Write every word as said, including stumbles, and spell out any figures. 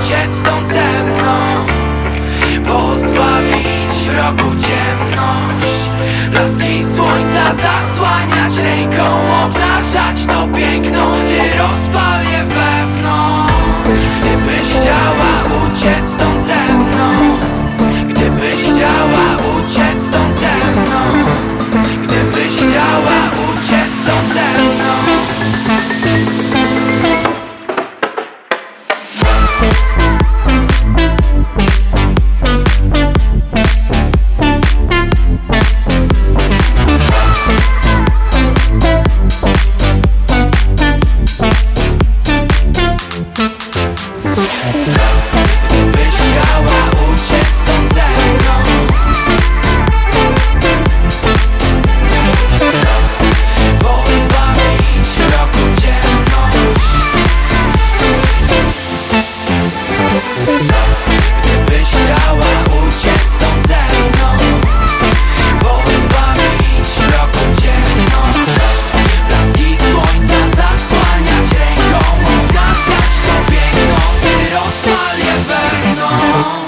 uciec stąd ze mną, pozbawić wrogu ciemność, blaski słońca zasłaniać ręką, obnażać to piękno, gdy rozpal je wewnątrz. Gdybyś chciała uciec stąd ze mną, gdybyś chciała uciec stąd ze mną, gdybyś chciała uciec stąd ze mną. Gdybyś chciała uciec stąd ze mną, pozbawić wrogu ciemność. Gdybyś chciała uciec stąd ze mną, pozbawić wrogu ciemność, blaski słońca zasłaniać ręką, obnażać to piękno, gdy rozpal je wewnątrz.